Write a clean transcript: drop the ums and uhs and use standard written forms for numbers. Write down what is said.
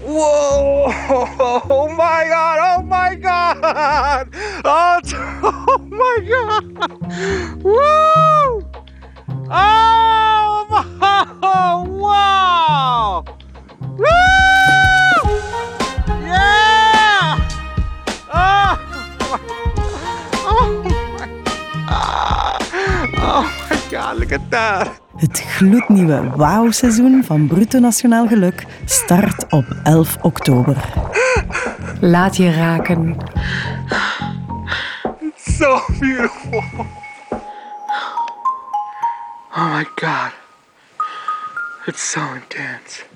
Whoa! Oh my god! Oh my god! Oh my god! Woo! Oh my! Wow! Woo! Yeah! Oh my! Oh my god! Look at that! Het gloednieuwe wauw-seizoen van Bruto Nationaal Geluk start op 11 oktober. Laat je raken. It's so beautiful. Oh my god. It's so intense.